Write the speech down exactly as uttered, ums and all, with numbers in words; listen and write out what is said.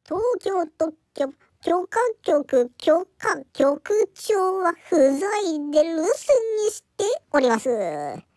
東京特許許可局許可局長は不在で留守にしております。